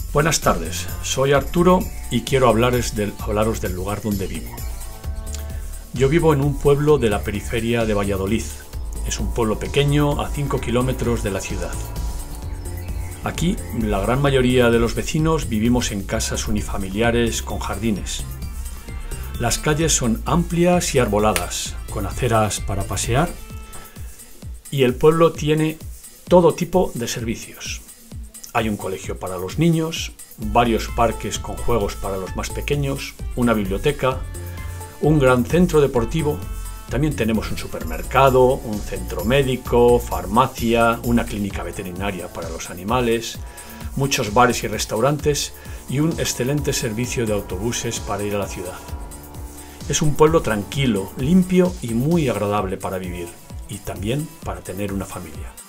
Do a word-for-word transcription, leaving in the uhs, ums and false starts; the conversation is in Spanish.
Buenas tardes, soy Arturo y quiero hablaros del, hablaros del lugar donde vivo. Yo vivo en un pueblo de la periferia de Valladolid. Es un pueblo pequeño a cinco kilómetros de la ciudad. Aquí, la gran mayoría de los vecinos vivimos en casas unifamiliares con jardines. Las calles son amplias y arboladas, con aceras para pasear, y el pueblo tiene todo tipo de servicios. Hay un colegio para los niños, varios parques con juegos para los más pequeños, una biblioteca, un gran centro deportivo. También tenemos un supermercado, un centro médico, farmacia, una clínica veterinaria para los animales, muchos bares y restaurantes y un excelente servicio de autobuses para ir a la ciudad. Es un pueblo tranquilo, limpio y muy agradable para vivir, y también para tener una familia.